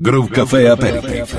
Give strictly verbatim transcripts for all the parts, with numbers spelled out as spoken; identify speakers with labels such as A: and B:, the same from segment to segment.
A: Groove Café Aperitif.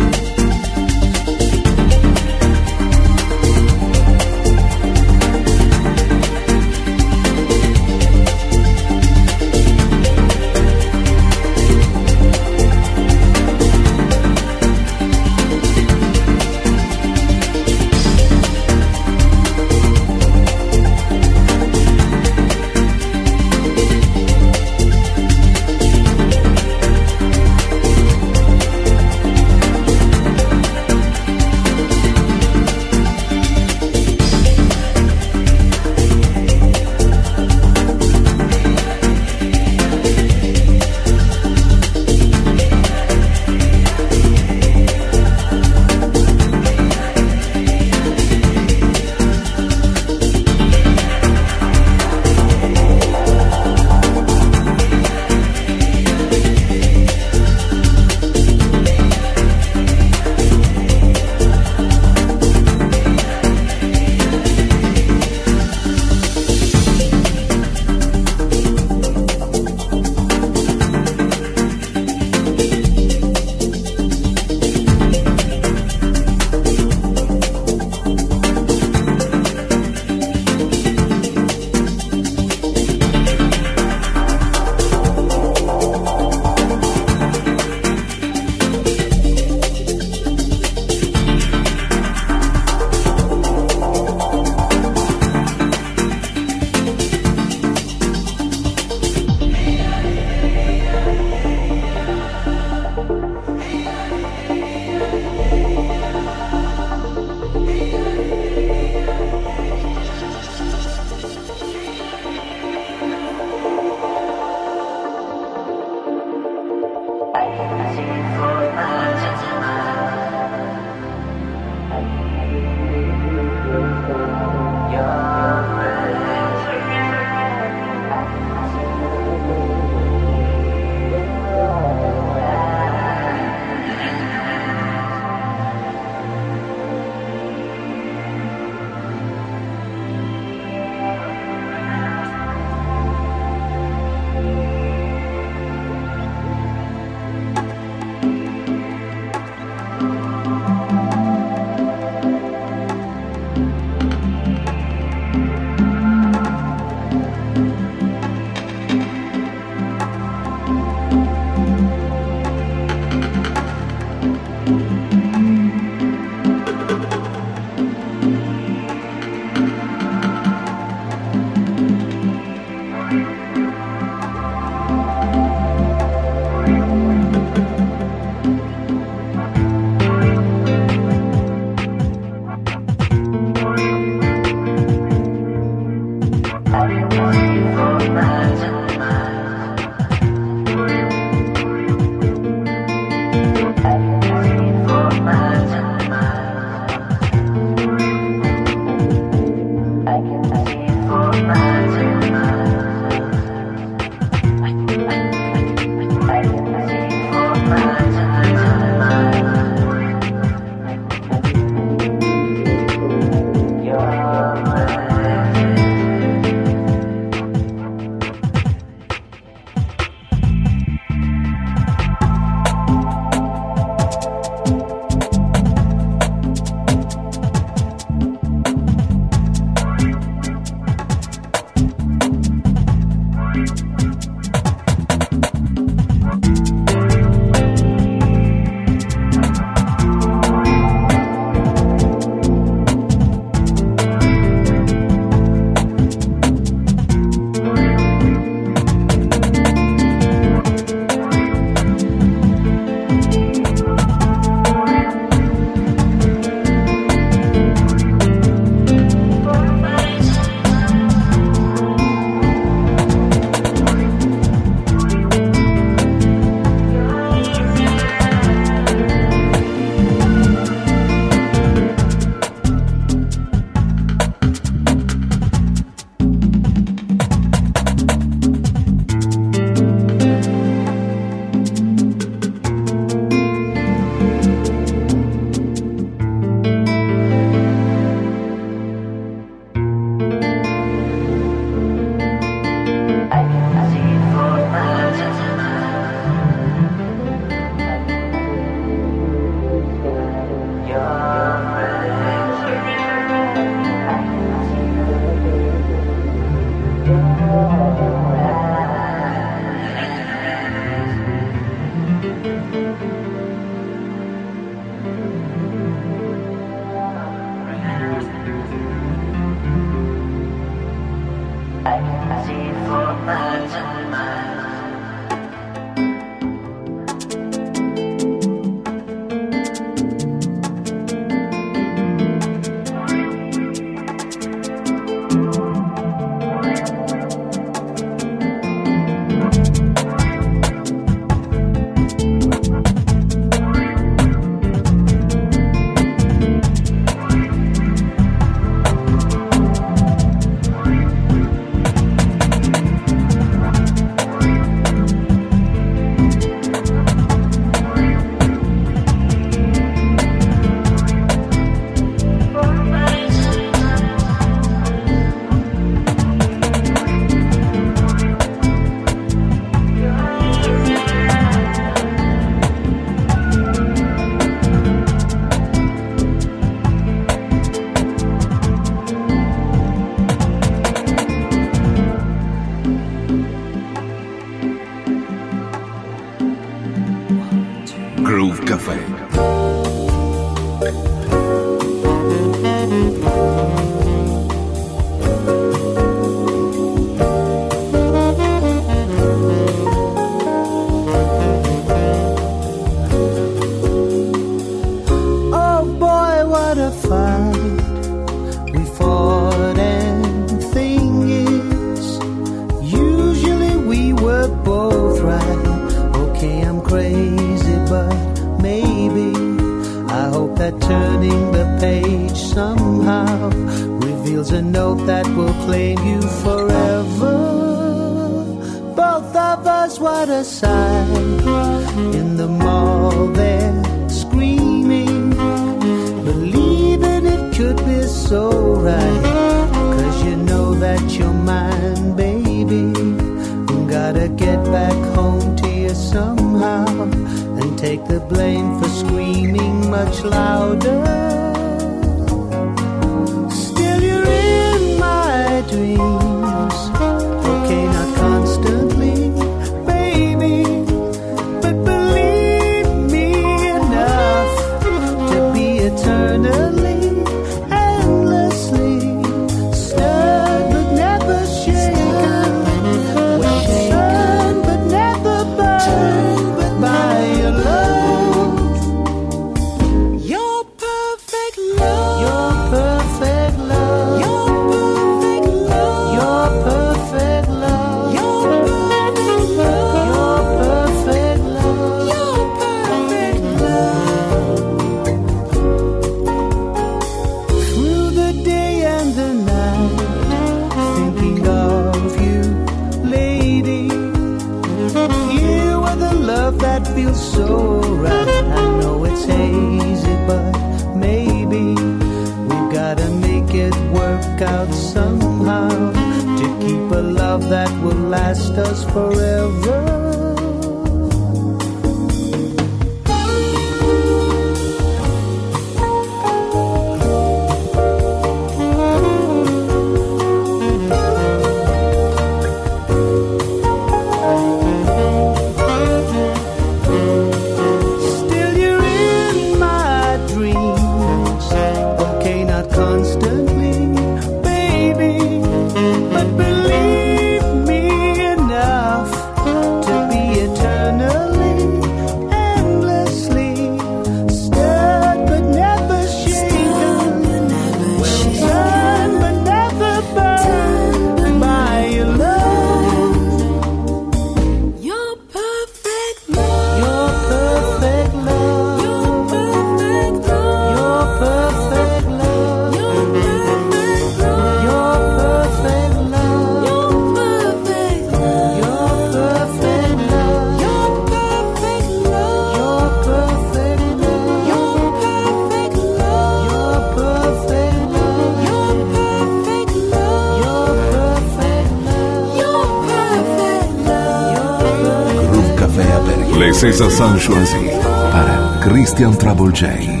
A: César Sanchoisi para Christian Travolgei.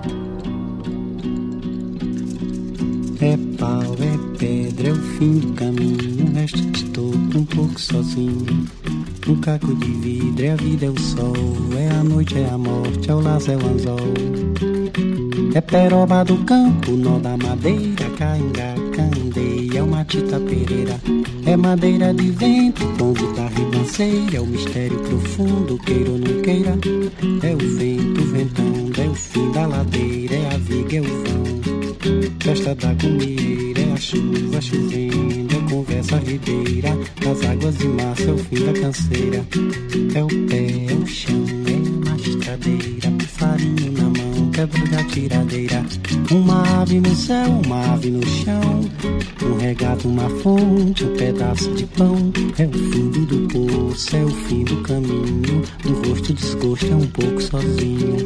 B: É pau, é pedra, é o fim do caminho. O resto estou um pouco sozinho. Um caco de vidro, é a vida, é o sol. É a noite, é a morte, é o laço, é o anzol. É peroba do campo, nó da madeira, caingá, candeia, é uma tita pereira. É madeira de vento, pombo da ribanceira. É o mistério profundo, queira ou não queira. É o vento ventando, é o fim da ladeira. É a viga, é o vão, festa da gomieira. É a chuva chovendo, é conversa ribeira. Das águas de março, é o fim da canseira. É o pé, é o chão, é uma estradeira. Farinho na mão, quebra da tiradeira. Uma ave no céu, uma ave no chão. Um regato, uma fonte, um pedaço de pão. É o fundo do poço, é o fim do caminho. Do rosto desgosto, é um pouco sozinho.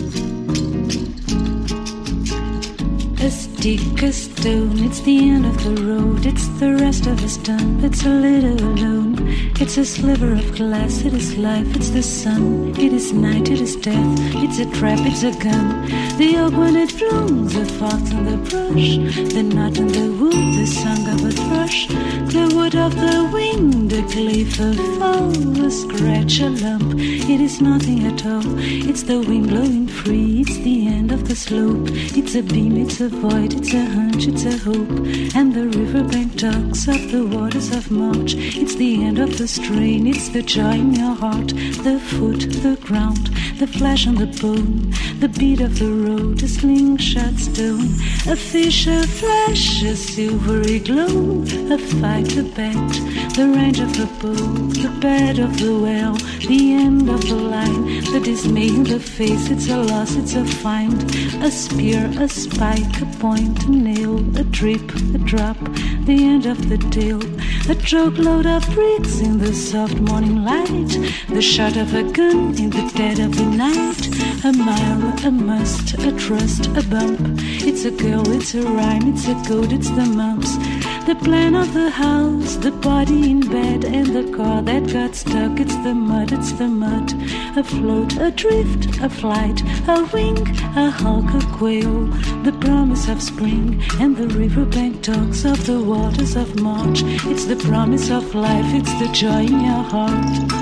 C: A stick, a stone, it's the end of the road. It's the rest of us done, it's a little alone. It's a sliver of glass, it is life, it's the sun. It is night, it is death, it's a trap, it's a gun. The oak when it blooms, the fox and the brush. The knot in the wood, the song of a thrush. The wood of the wing, the cliff, a fall, a scratch, a lump. It is nothing at all, it's the wind blowing free. It's the end of the slope, it's a beam, it's a void. sight, it's a hunch, it's a hope. And the riverbank talks of the waters of March. It's the end of the strain, it's the joy in your heart. The foot, the ground, the flesh on the bone, the beat of the road, a slingshot stone, a fish, a flash, a silvery glow, a fight, a bet, the range of the bow, the bed of the well, the end of the line, the dismay in the face, it's a loss, it's a find, a spear, a spike, a point, a nail, a drip, a drop, the end of the tale, a truckload of bricks in the soft morning light, the shot of a gun in the dead of the night, a mile, a must, a trust, a bump, it's a girl, it's a rhyme, it's a code, it's the mumps, the plan of the house, the body in bed, and the car that got stuck, it's the mud, it's the mud, a float, a drift, a flight, a wing, a hawk, a quail, the promise of spring, and the riverbank talks of the waters of March, it's the promise of life, it's the joy in your heart.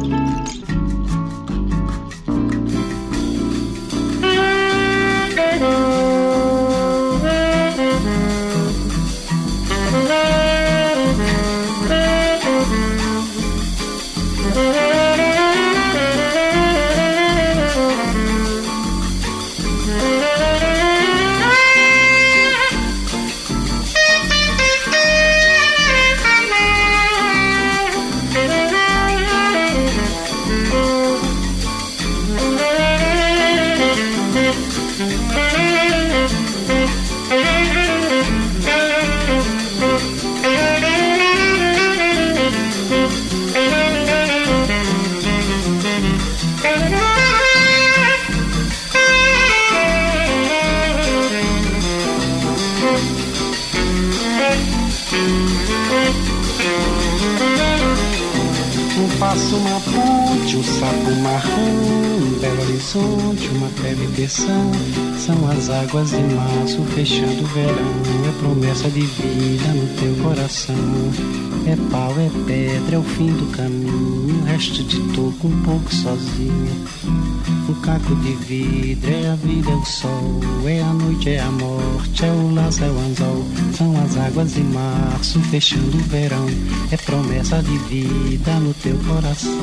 B: Uma ponte, um sapo marrom, um belo horizonte, uma breve tensão. São as águas de março fechando o verão. É promessa de vida no teu coração. É pau, é pedra, é o fim do caminho. Resto de toco um pouco sozinho. Um caco de vidro, é a vida, é o sol. É a noite, é a morte, é o laço, é o anzol. São as águas de março fechando o verão. É promessa de vida no teu coração.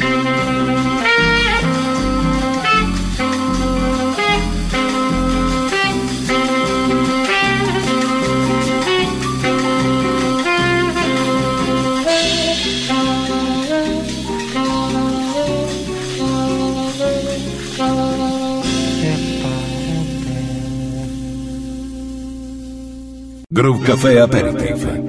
A: Groove Café Aperitif.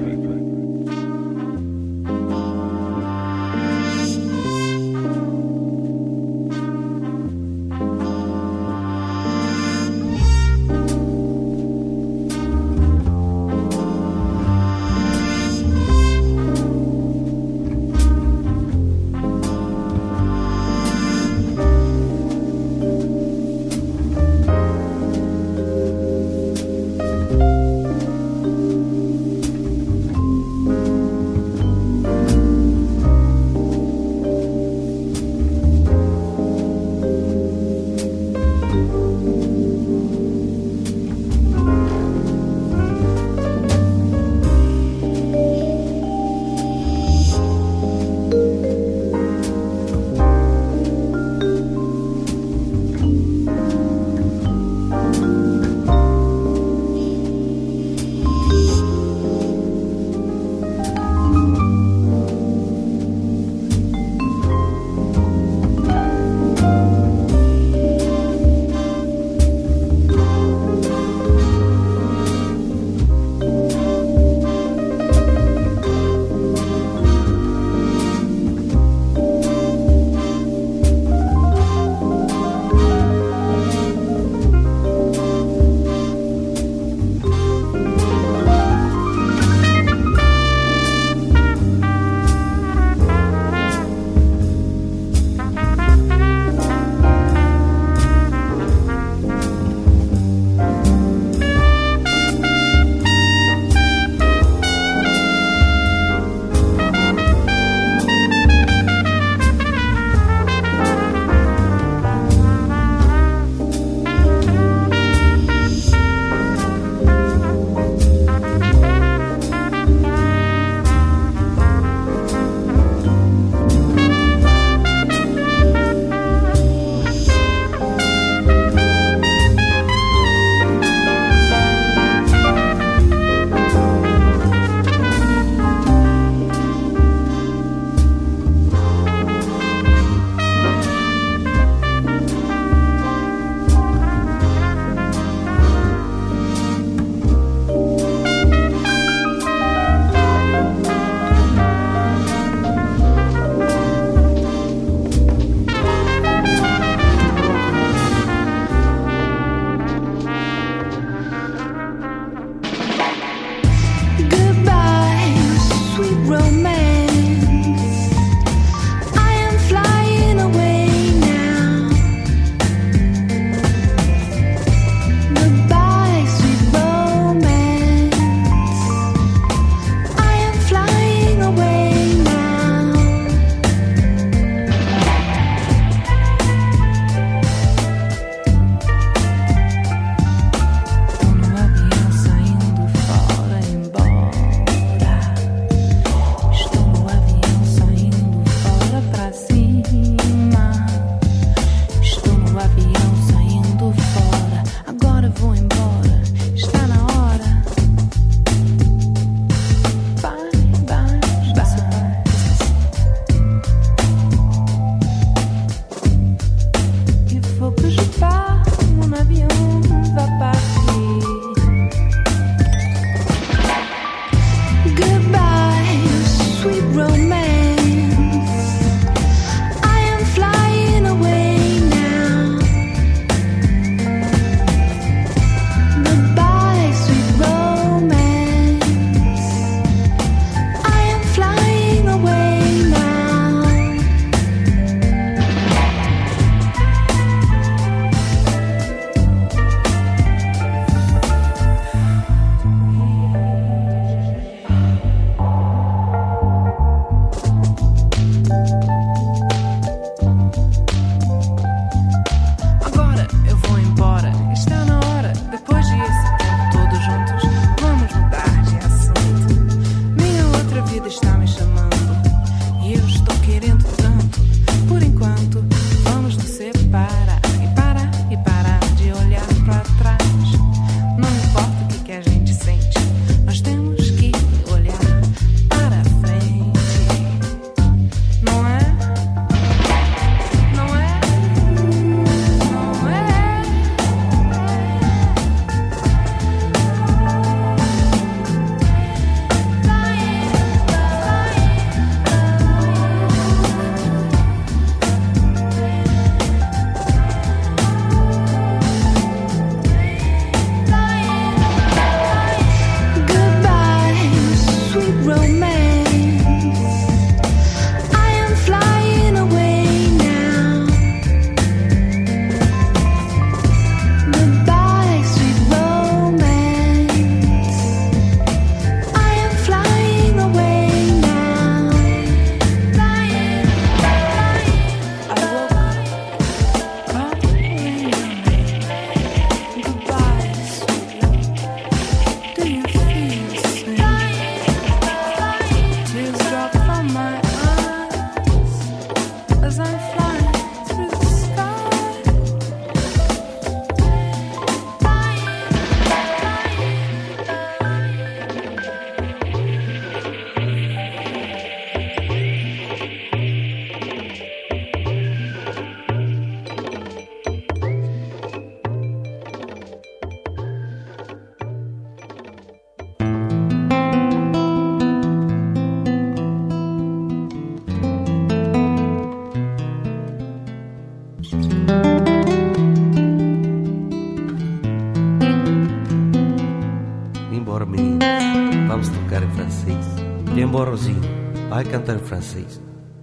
D: Bora, menino, vamos tocar em francês. Vem embora, Rosinho, vai cantar em francês.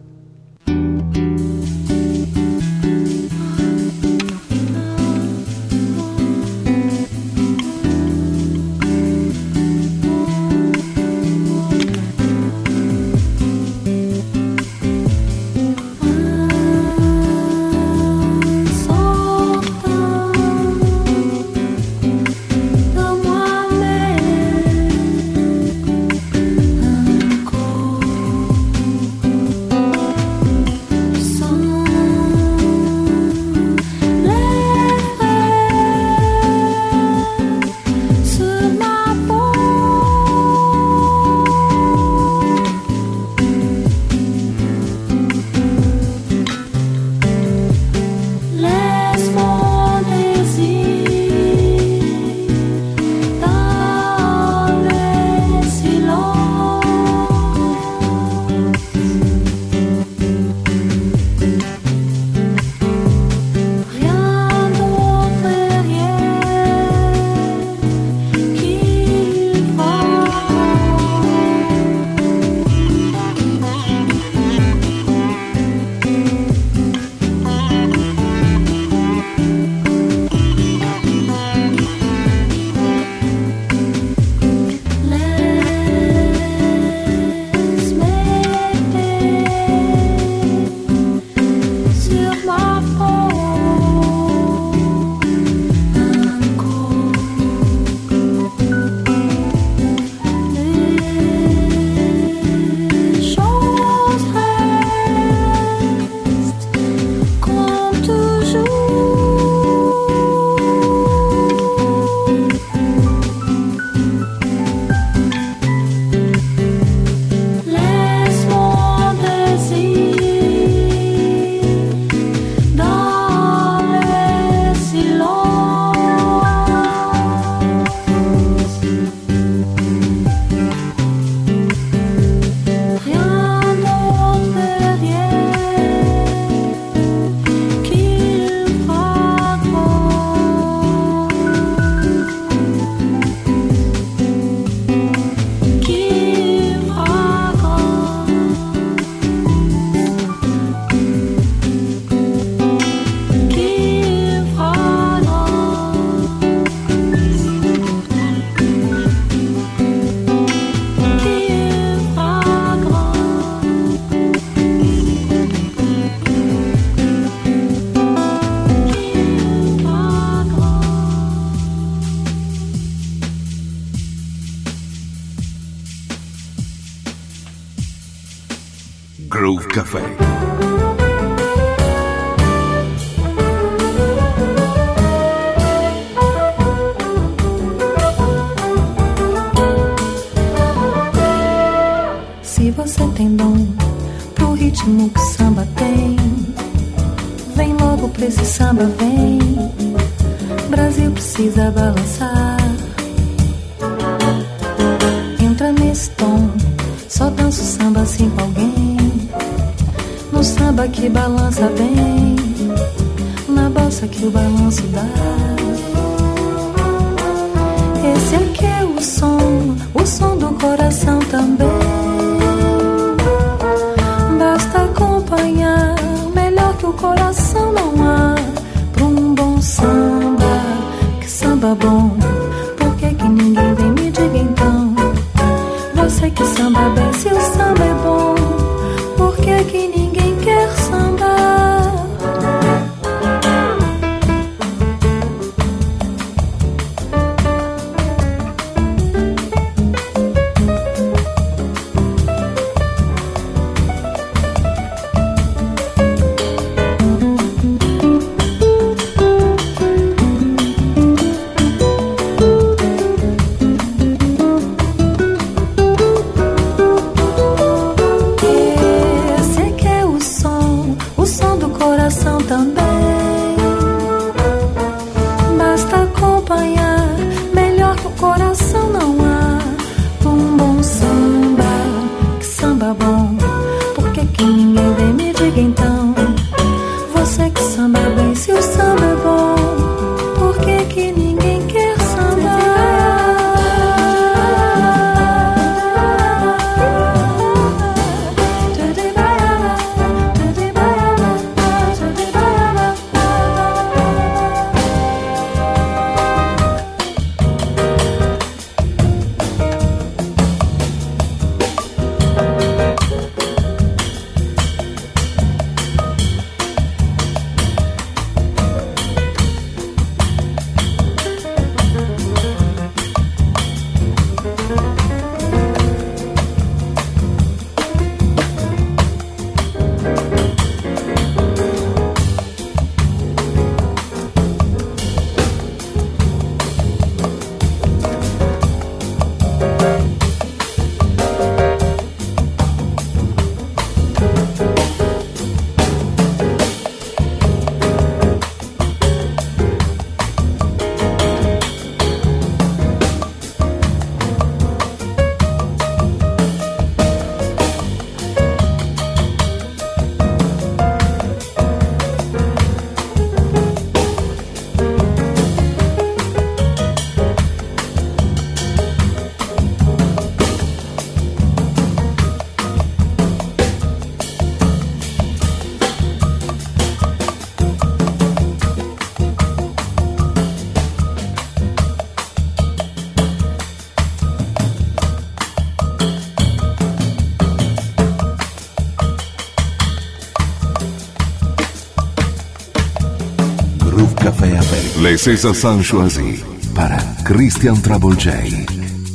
A: Groove Café.
C: Se você tem dom pro ritmo que samba tem, vem logo pra esse samba, vem. Brasil precisa balançar. Entra nesse tom, só dança o samba assim com alguém. No samba que balança bem, na balsa que o balanço dá. Esse aqui é o som, o som do coração também. Basta acompanhar, melhor que o coração não há. Pra um bom samba, que samba bom, por que que ninguém vem me diga então? Você que samba bem, se o samba é bom, por que que ninguém quer sambar?
A: Les César Choisi para Christian Trouble J.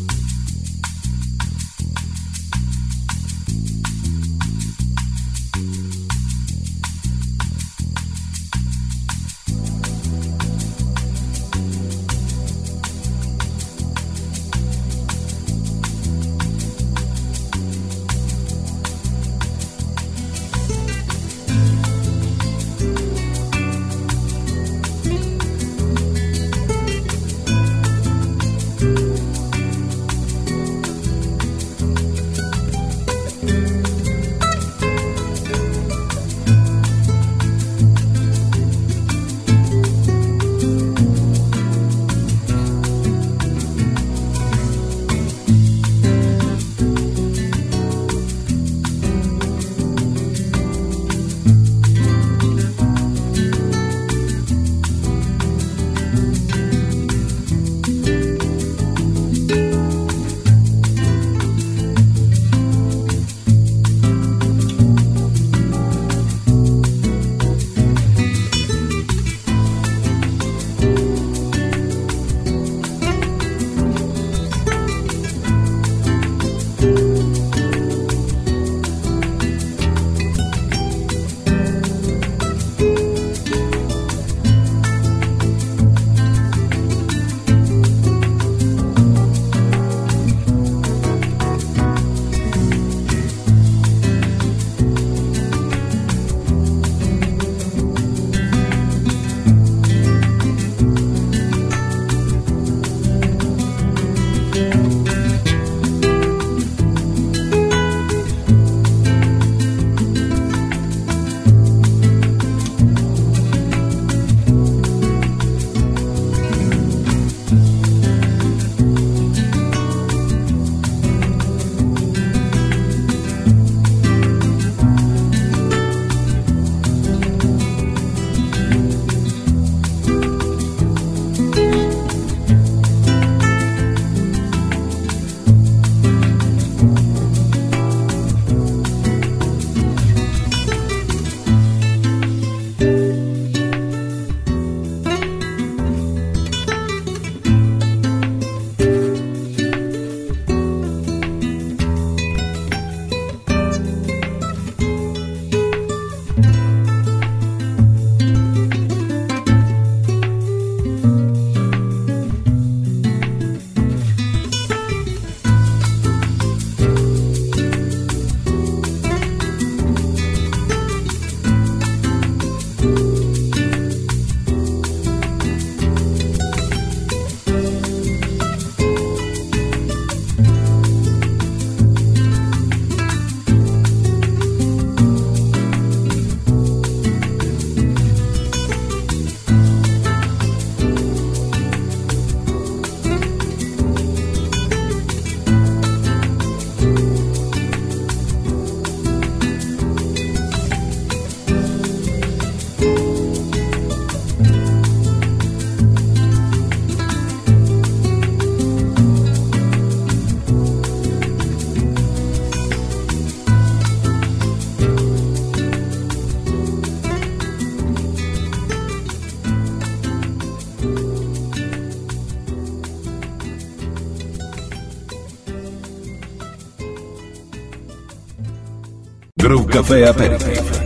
A: Groove Café Aperitif.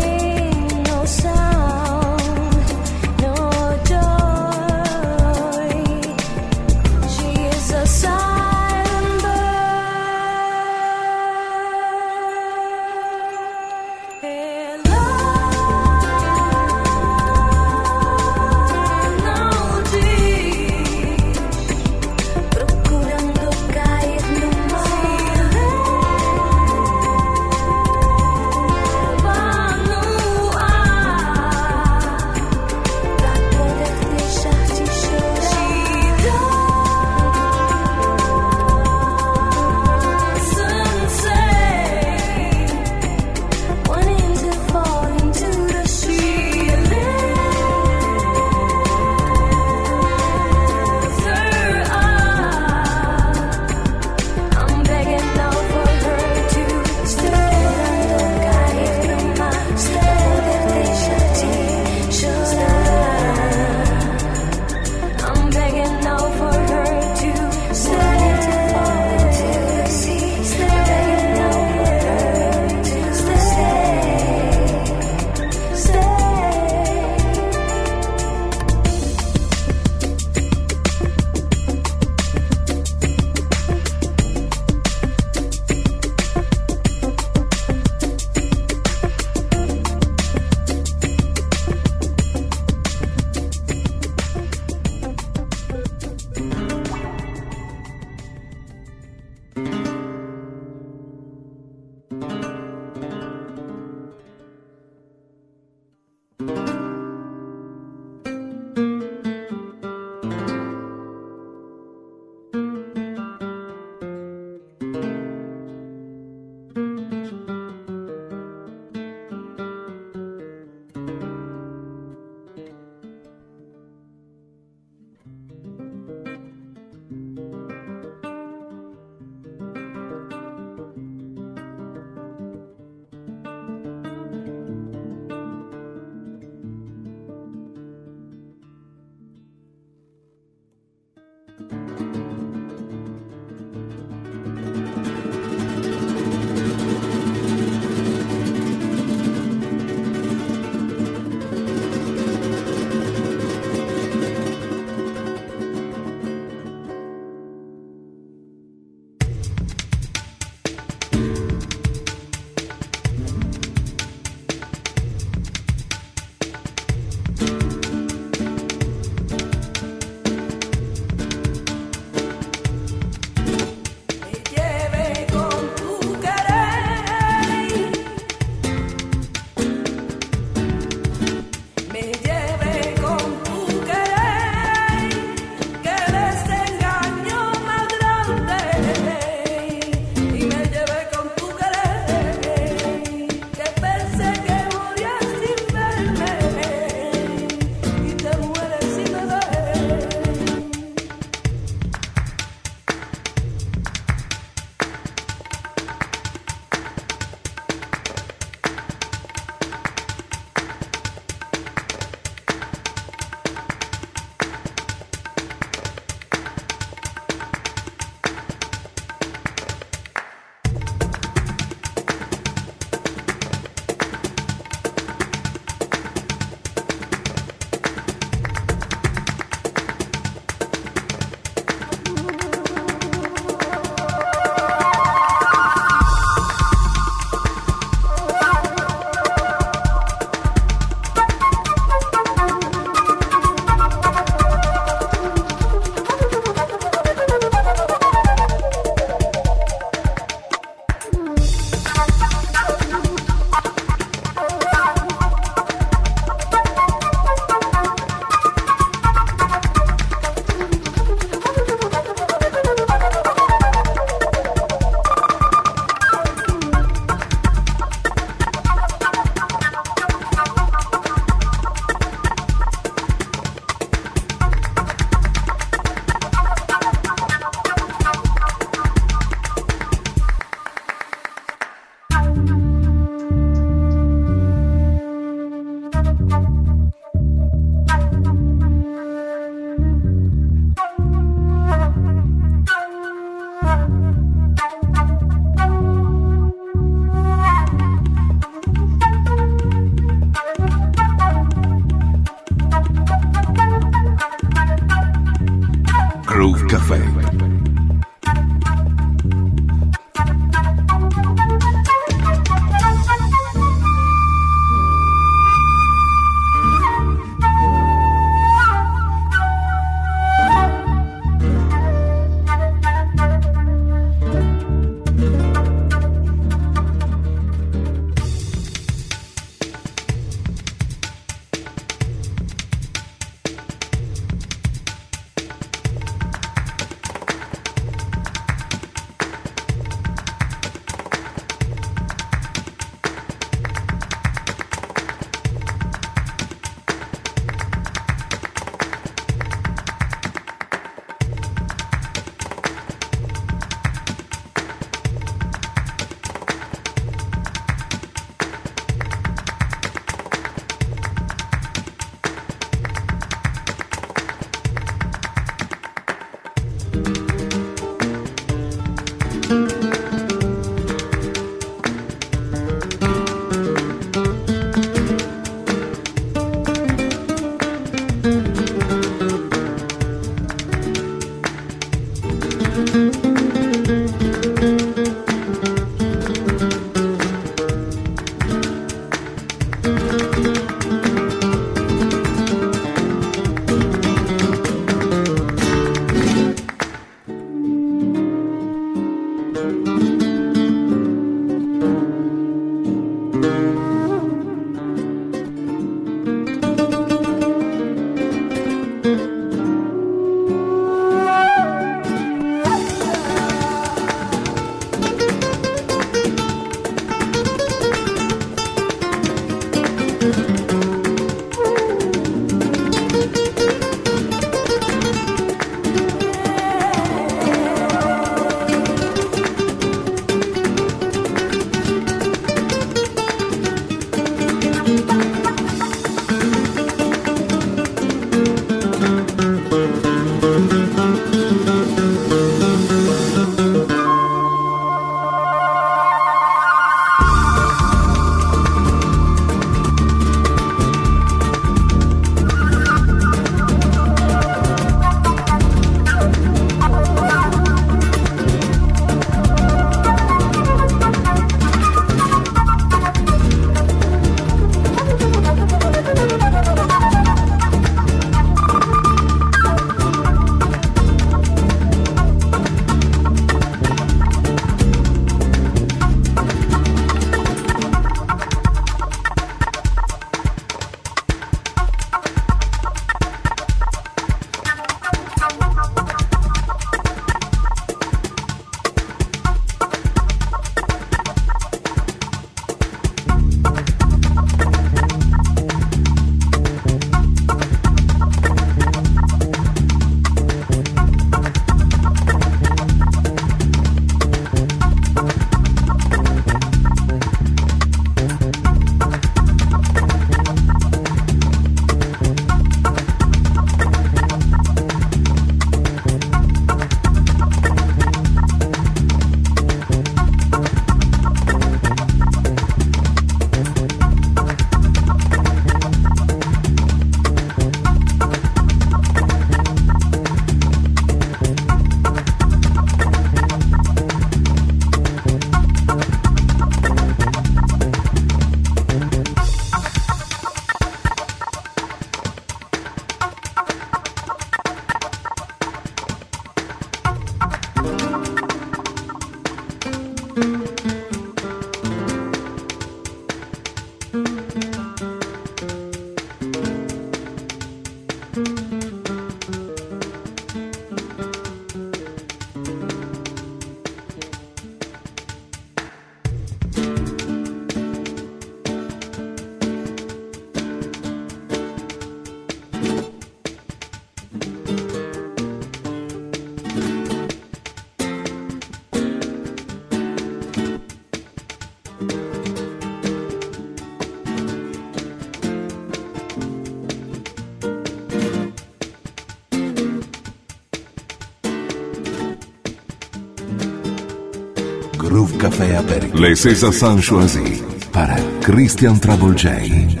A: Groove Café Apéritif. Les César San choisis para Christian Trouble J.